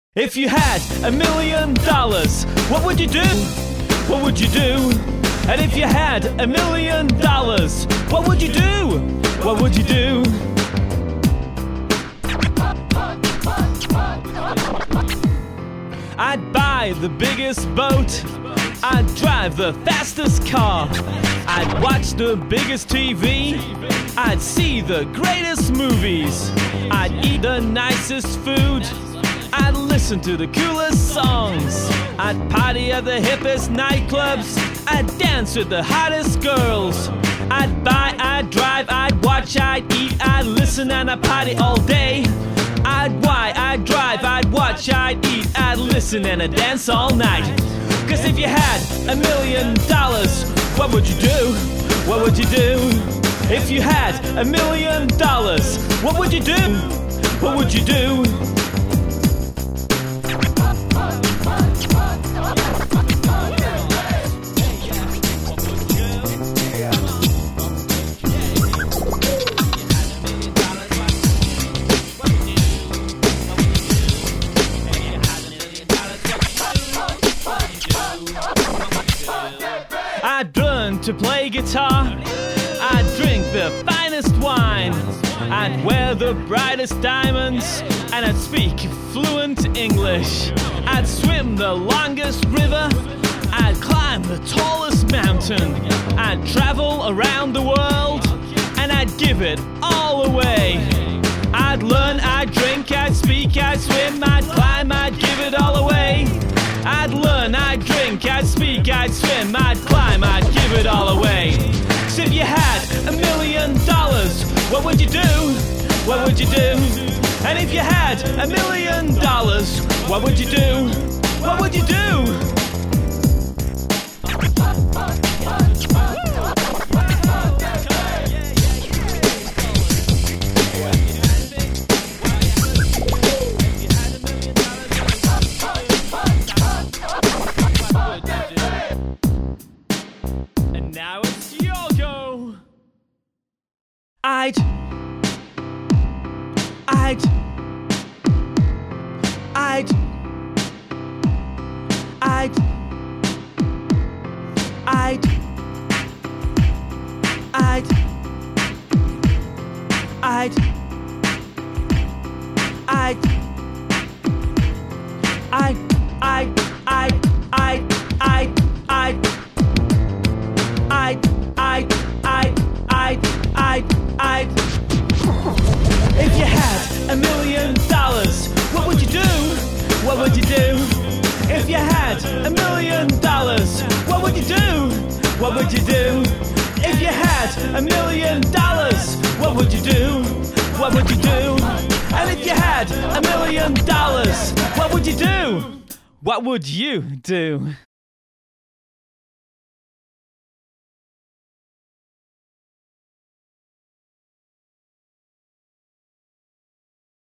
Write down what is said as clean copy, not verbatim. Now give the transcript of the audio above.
If you had $1,000,000, what would you do? What would you do? And if you had $1,000,000, what would you do? What would you do? I'd buy the biggest boat. I'd drive the fastest car. I'd watch the biggest TV. I'd see the greatest movies. I'd eat the nicest food. I'd listen to the coolest songs. I'd party at the hippest nightclubs. I'd dance with the hottest girls. I'd buy, I'd drive, I'd watch, I'd eat, I'd listen, and I'd party all day. I'd buy, I'd drive, I'd watch, I'd eat, I'd listen, and I'd dance all night. 'Cause if you had $1,000,000, what would you do? What would you do? If you had $1,000,000, what would you do? What would you do? I'd learn to play guitar. I'd drink the finest wine. I'd wear the brightest diamonds. And I'd speak fluent English. I'd swim the longest river. I'd climb the tallest mountain. I'd travel around the world. And I'd give it all away. I'd learn, I'd drink, I'd speak, I'd swim, I'd climb, I'd give it all away. I'd learn, I'd drink, I'd speak, I'd swim, I'd climb, I'd give it all away. So if you had $1,000,000, what would you do? What would you do? And if you had $1,000,000, what would you do? What would you do? Now it's your go. I'd If you had $1,000,000, what would you do? What would you do? If you had $1,000,000, what would you do? What would you do? If you had $1,000,000, what would you do? What would you do? And if you had $1,000,000, what would you do? What would you do?